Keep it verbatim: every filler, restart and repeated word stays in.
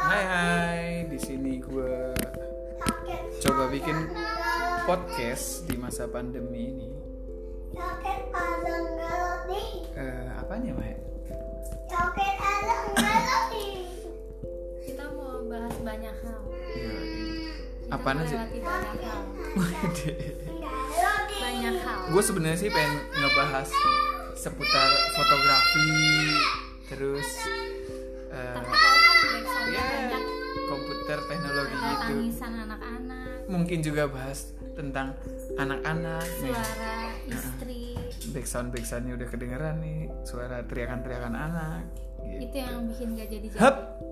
Hai hai, di sini gue coba bikin podcast di masa pandemi ini. Uh, apanya Maya? Kita mau bahas banyak hal. Iya. Kita Apaan sih? melewati banyak hal. Banyak hal. Gue sebenarnya sih pengen ngebahas seputar fotografi, terus uh, Tapi tahu kan backsoundnya ya, banyak. komputer, teknologi Ada gitu. tangisan anak-anak, Mungkin juga bahas tentang anak-anak nih. suara istri. Backsound backsoundnya udah kedengeran nih, suara teriakan-teriakan anak. Gitu. Itu yang bikin gak jadi jadi. Hup.